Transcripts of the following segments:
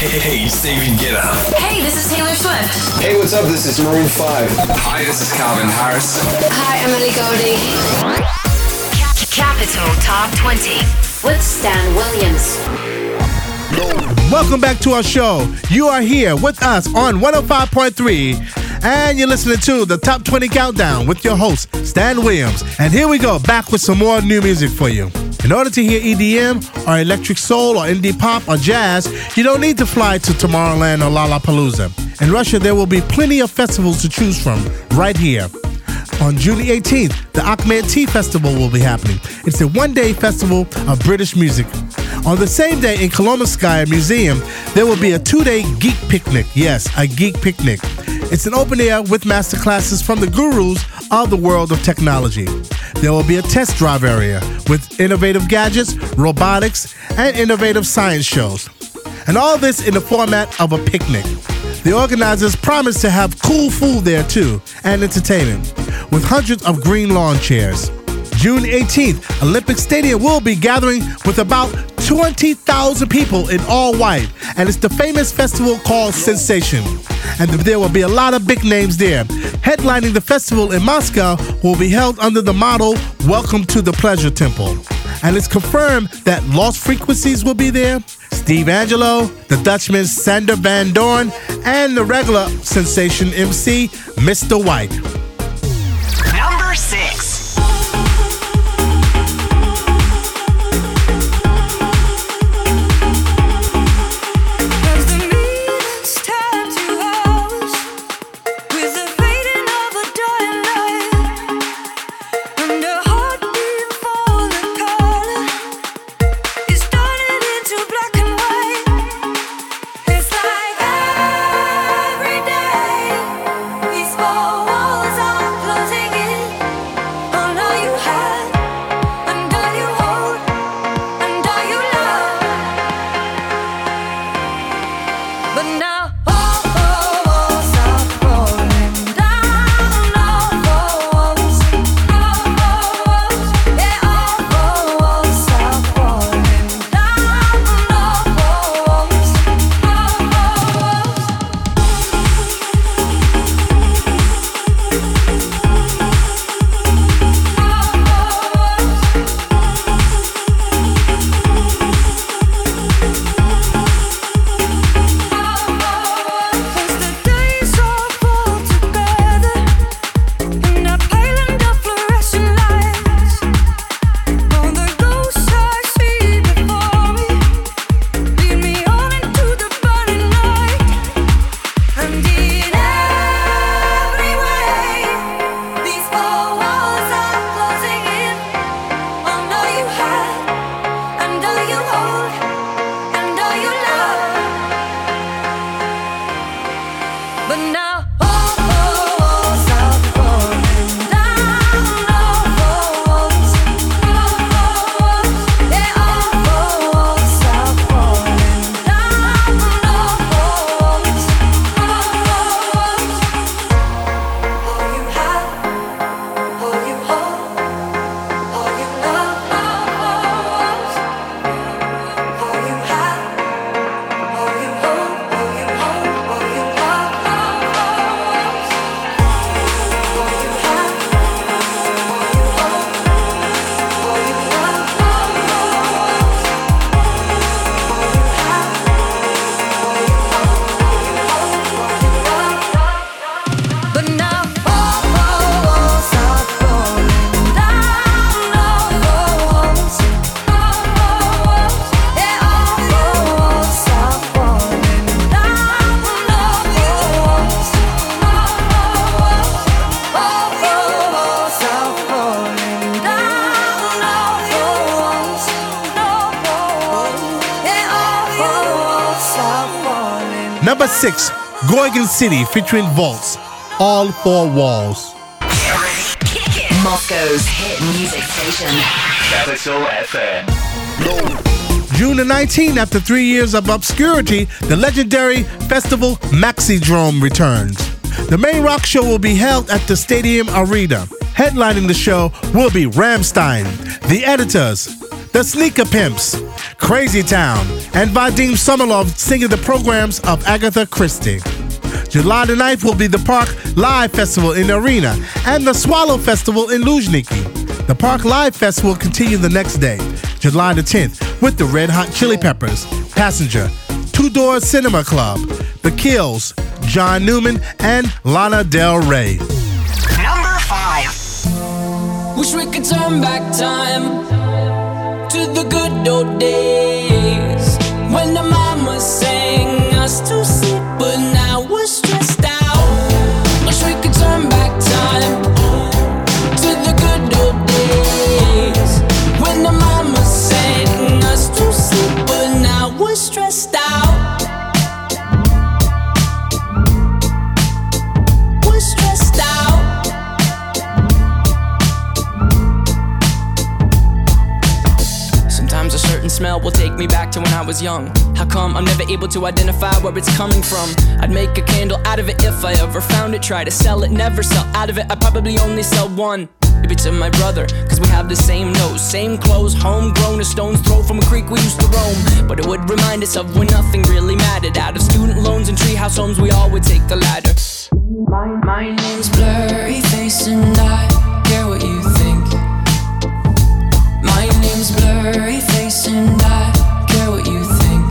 Hey, David Guetta. Hey, this is Taylor Swift. Hey, what's up? This is Maroon 5. Hi, this is Calvin Harris. Hi, Emily Goldie. Capital Top 20 with Stan Williams. Welcome back to our show. You are here with us on 105.3, and you're listening to the Top 20 Countdown with your host, Stan Williams. And here we go, back with some more new music for you. In order to hear EDM or electric soul or indie pop or jazz, you don't need to fly to Tomorrowland or Lollapalooza. In Russia, there will be plenty of festivals to choose from right here. On June 18th, the Akhmet Tea Festival will be happening. It's a one-day festival of British music. On the same day in Kolomyskaya Museum, there will be a two-day geek picnic. Yes, a geek picnic. It's an open air with masterclasses from the gurus of the world of technology. There will be a test drive area with innovative gadgets, robotics, and innovative science shows. And all this in the format of a picnic. The organizers promise to have cool food there too, and entertainment, with hundreds of green lawn chairs. June 18th, Olympic Stadium will be gathering with about 20,000 people in all white, and it's the famous festival called Sensation. And there will be a lot of big names there. Headlining the festival in Moscow will be held under the motto, Welcome to the Pleasure Temple. And it's confirmed that Lost Frequencies will be there, Steve Angelo, the Dutchman Sander Van Doorn, and the regular Sensation MC, Mr. White. Number 6. Number 6, Gorgon City featuring Vaults, All Four Walls. Moscow's hit music station. Capital FM. June the 19th, after 3 years of obscurity, the legendary festival Maxidrome returns. The main rock show will be held at the Stadium Arena. Headlining the show will be Rammstein, The Editors, The Sneaker Pimps, Crazy Town, and Vadim Somerlov singing the programs of Agatha Christie. July the 9th will be the Park Live Festival in the Arena and the Swallow Festival in Luzhniki. The Park Live Festival will continue the next day, July the 10th, with the Red Hot Chili Peppers, Passenger, Two Door Cinema Club, The Kills, John Newman, and Lana Del Rey. Number 5. Wish we could turn back time to the good old days when the mama sang us to sleep, but now we're stressed out. Wish we could turn back time to the good old days when the mama sang us to sleep, but now we're stressed out. We're stressed out. Sometimes a certain smell will take me back to when I was young. How come I'm never able to identify where it's coming from? I'd make a candle out of it if I ever found it. Try to sell it, never sell out of it. I'd probably only sell one. Maybe to my brother, cause we have the same nose, same clothes, homegrown, a stone's throw from a creek we used to roam. But it would remind us of when nothing really mattered. Out of student loans and treehouse homes, we all would take the ladder. My name's Blurry Face and I care what you think. My name's Blurry Face and I care what you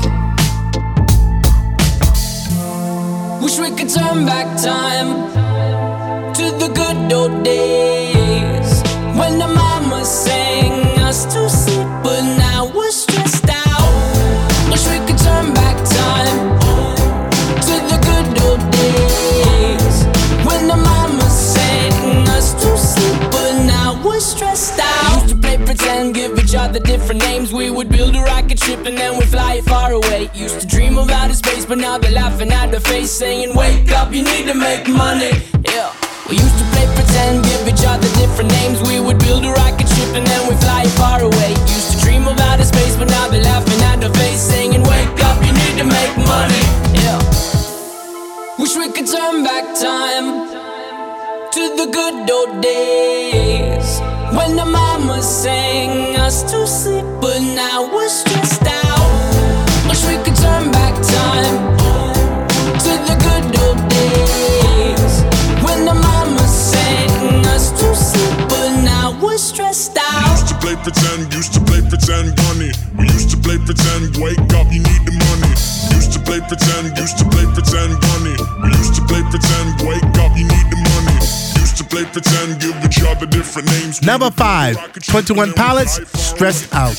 think. Wish we could turn back time to the good old days when the mama sang us to sleep, but now we're stressed out. Wish we could turn back time to the good old days when the mama sang us to sleep, but now we're stressed out. Used to play pretend, give each other different names. We would build a rocket ship and then we'd fly it far away. Used to dream of outer space, but now they're laughing at the face, saying, wake up, you need to make money. Yeah. We used to play pretend, give each other different names. We would build a rocket ship and then we'd fly it far away. Used to dream of outer space, but now they're laughing at the face, saying, wake up, you need to make money. Yeah. Wish we could turn back time to the good old days when the mama sang us to sleep, but now we're stressed out. Wish we could turn back time to the good old days when the mama sang us to sleep, but now we're stressed out. Used to play pretend, bunny. We used to play pretend, wake up, you need the money. Used to play pretend, bunny. We used to play pretend, wake up, you need the money. Used to play pretend, give each other different names. Number 5, 21 Pilots, Stressed Out.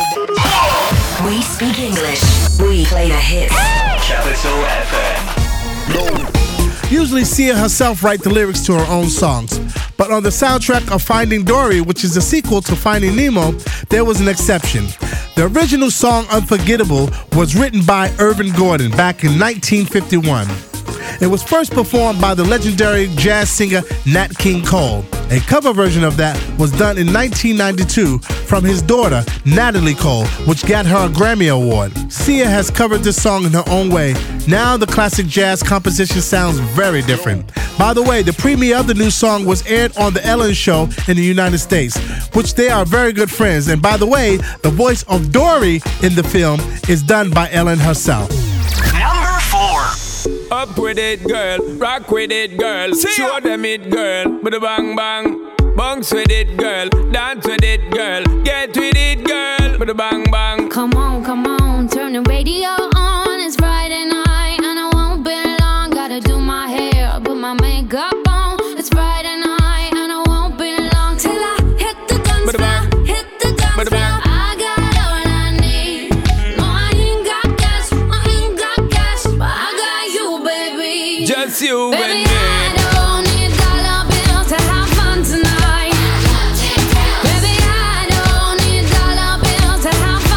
We speak English. We play the hits. Capital FM. Usually Sia herself writes the lyrics to her own songs, but on the soundtrack of Finding Dory, which is a sequel to Finding Nemo, there was an exception. The original song Unforgettable was written by Irvin Gordon back in 1951. It was first performed by the legendary jazz singer Nat King Cole. A cover version of that was done in 1992 from his daughter, Natalie Cole, which got her a Grammy Award. Sia has covered this song in her own way. Now the classic jazz composition sounds very different. By the way, the premiere of the new song was aired on The Ellen Show in the United States, which they are very good friends. And by the way, the voice of Dory in the film is done by Ellen herself. Number 4. Up with it, girl. Rock with it, girl. Show them it, girl. With a bang bang. Bounce with it, girl. Dance with it, girl. Get with it, girl. With a bang bang. Come on, turn the radio on. It's Friday night and I won't be long. Gotta do my hair, put my makeup on. It's Friday night and I won't be long till I hit the guns now. Hit the guns now. I got all I need. No, I ain't got cash, but I got you, baby. Just you and Baby, me. I don't need dollar bills to have fun tonight. Baby, I don't need dollar bills to have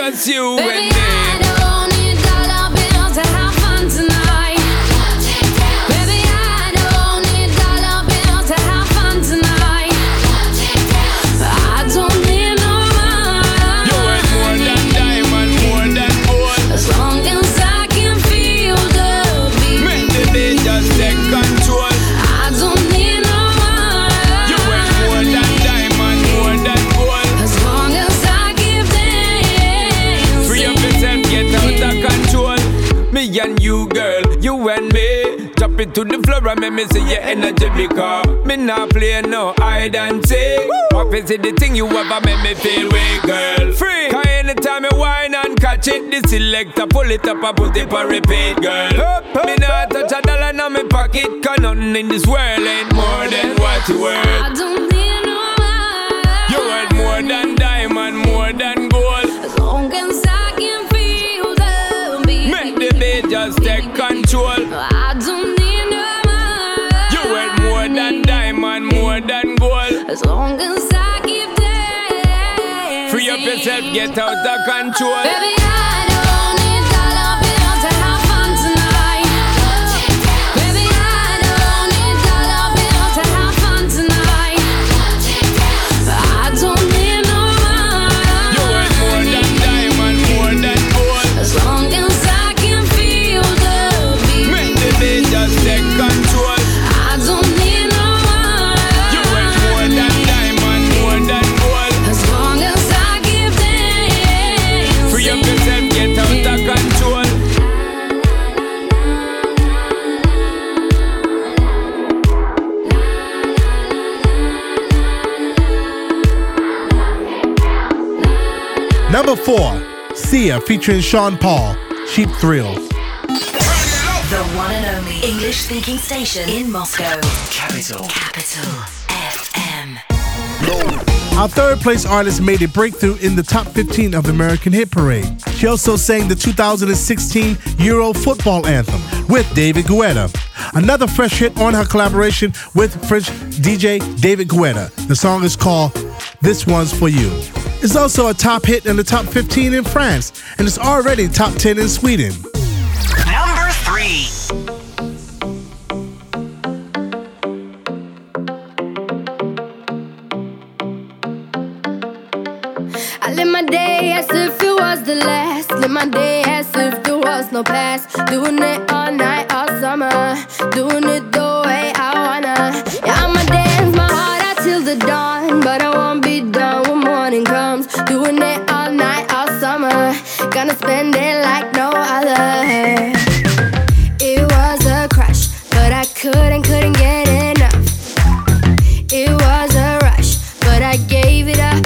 just you Baby, and me. I don't need dollar bills to have fun tonight. Baby, I don't need dollar bills to have fun tonight. I don't need no money. You worth more than diamond, more than gold. As long as I can feel the beat. Make the beat just take control. I don't need no money. You worth more than diamond, more than gold. As long as I keep dancing. Free up yourself, get out of control. Me and you, girl, you and me. Drop it to the floor and make me see your energy because me not play no hide and seek. What is it the thing you ever make me feel weak, girl? Free. Cause anytime you whine and catch it, the selector pull it up and put it on repeat, girl. Me not touch a dollar in my pocket, cause nothing in this world ain't more than what you worth. I don't need no money. You worth more than diamond, more than gold. As long as I can feel the beat. Make the beat just take control. I don't need no money. You worth more than diamond, more than gold. As long as I keep dancing. Free up yourself, get out of control. Baby, I don't need dollar bills to have fun tonight. Baby, I don't need dollar bills to have fun tonight. I don't need no money. You worth more than diamond, more than gold. As long as I can feel the beat. Make the beat just take control. I don't need no money. You worth more than diamond, more than gold. As long as I keep dancing. Free up yourself, get out of control. Number 4, Sia featuring Sean Paul, Cheap Thrills. The one and only English-speaking station in Moscow. Capital. Capital FM. Our third place artist made a breakthrough in the top 15 of the American Hit Parade. She also sang the 2016 Euro football anthem with David Guetta. Another fresh hit on her collaboration with French DJ David Guetta. The song is called This One's For You. It's also a top hit in the top 15 in France, and it's already top 10 in Sweden. Number 3. I live my day as if it was the last. Live my day as if there was no past. Doing it all night, all summer. Doing it the way I wanna. Yeah, I'ma dance my heart out till the dawn. But I won't be done when morning comes. Doing it all night, all summer. Gonna spend it like no other. It was a crush, but I couldn't get enough. It was a rush, but I gave it up.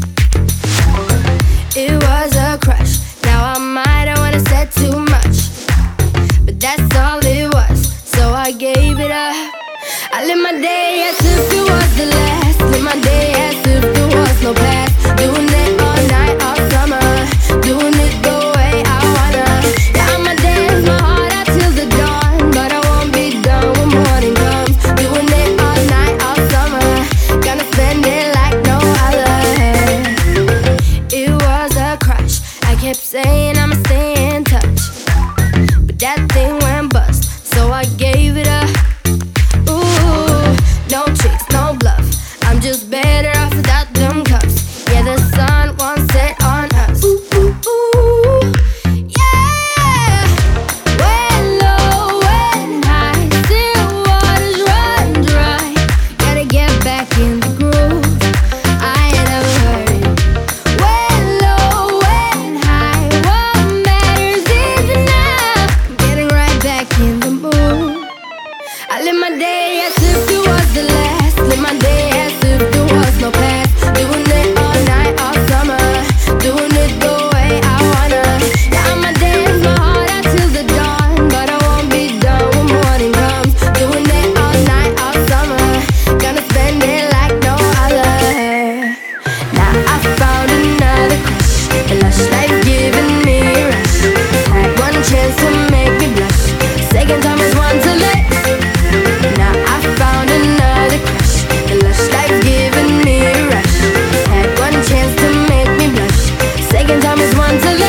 It was a crush. Now I might have wanna said too much, but that's all it was, so I gave it up. I live my day as if it was the last. Live my day as if there was no past. Doing it all night, all summer. Doing it the way I wanna. Yeah, I'ma dance my heart out till the dawn, but I won't be done when morning comes. Doing it all night, all summer. Gonna spend it like no other. It was a crush. I kept saying I'ma stay in touch, but that thing went bust, so I gave it up. Ooh, no tricks, no bluff. I'm just better off without them cuffs. Yeah, the sun won't set on us. Ooh, ooh, ooh. Yeah. When low, when high, still waters run dry. Gotta get back in the groove. I ain't never heard it. When low, when high, what matters is enough. Getting right back in the mood. I live my day as if it was the last. Live my day as if there was no past. Doing it all night, all summer. Doing it the way I wanna. Yeah, I'ma dance my heart out till the dawn, but I won't be done when morning comes. Doing it all night, all summer. Gonna spend it like no other. Now I found another crush. A lush life giving me a rush. Had one chance to make me blush. Second time is one to let. Now I found another crush. The lush life giving me a rush. Had one chance to make me blush. Second time is one to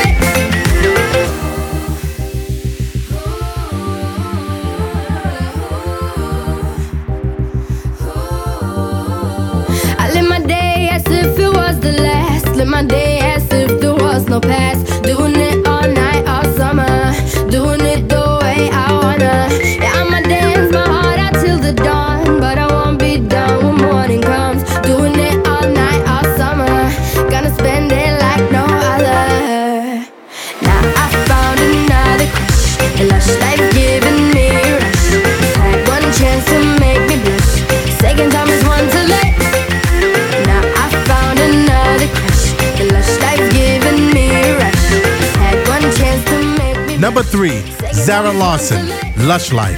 Number 3, Zara Larsson, Lush Life.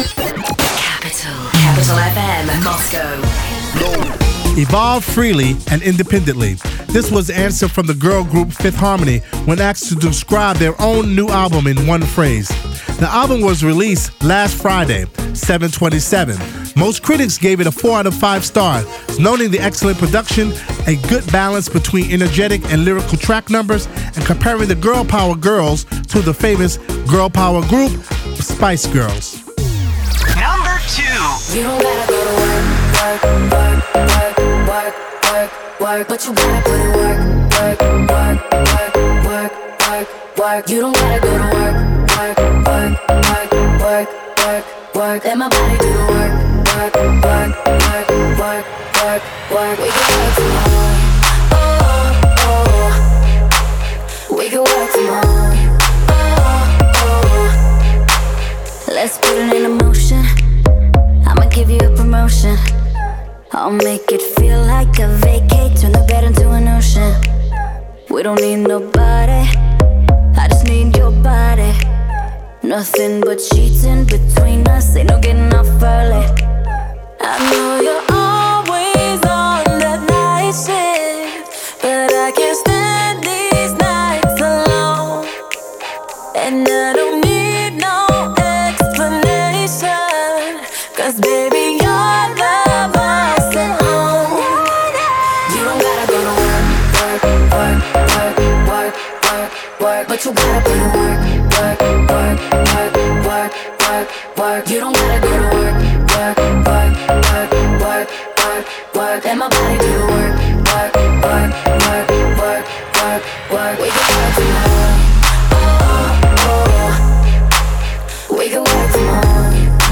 Capital FM, Moscow. Evolve freely and independently. This was the answer from the girl group Fifth Harmony when asked to describe their own new album in one phrase. The album was released last Friday, 7/27. Most critics gave it a 4 out of 5 stars, noting the excellent production, a good balance between energetic and lyrical track numbers, and comparing the girl power girls to the famous girl power group Spice Girls. Number 2. You don't gotta go to work, work, work, work, work, work, but you gotta put in work, work, work, work, work, work, work. You don't gotta go to work, work, work, work, work, work, work. Let my body do the work, work, work, work, work, work, work. We can work tomorrow, oh, oh. We can work tomorrow, oh, oh. Let's put it in motion. I'ma give you a promotion. I'll make it feel like a vacate. Turn the bed into an ocean. We don't need nobody, I just need your body. Nothing but sheets in between us. Ain't no getting off early. I know you're always on that night shift, but I can't stand these nights alone. And I don't need no explanation, 'cause baby you're the boss at home. You don't gotta go to work, work, work, work, work, work, work, but you gotta put in work, work, work, work, work, work, work. You don't gotta go to work, work, work, work, work, work, work. Let my body do the work, work, work, work, work, work, work. We can work tomorrow, oh, oh. We can work tomorrow,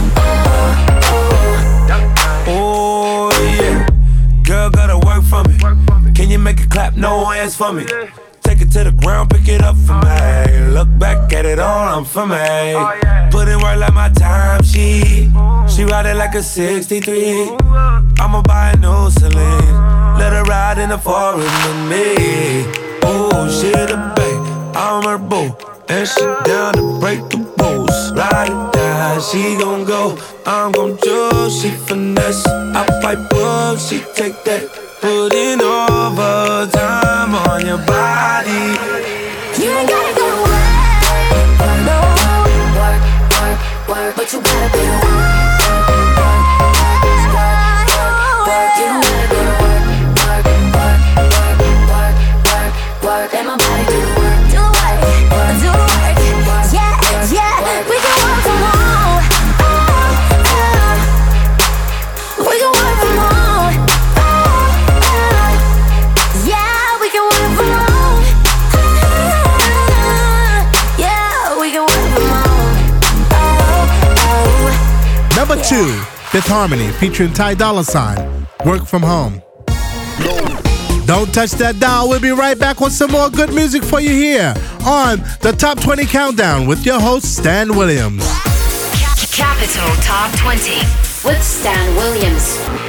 oh, oh. Oh yeah, girl gotta work for me. Can you make it clap? No hands for me. Take it to the ground, pick it up for me. Look back at it all, I'm for me. Put in work like my time sheet. She ride it like a 63. I'ma buy a new Celine. Let her ride in the forest with me. Oh, she the babe, I'm her boo, and she down to break the rules. Ride it down, she gon' go, I'm gon' choose. She finesse, I pipe up, she take that. Put in overtime on your body. You ain't gotta go to work, no, work, work, work, but you gotta put in work, work, work, work, work. You don't gotta go to work, work, work, work, work, work, work. Let my body do the work, do the work, do the work. Yeah, yeah, we can work from home, oh, oh. We can work from home, oh, oh. Yeah, we can work from home, yeah, we can work from home, oh, oh. Number 2, Fifth Harmony featuring Ty Dolla $ign, Work From Home. Don't touch that dial. We'll be right back with some more good music for you here on the Top 20 Countdown with your host, Stan Williams. Capital Top 20 with Stan Williams.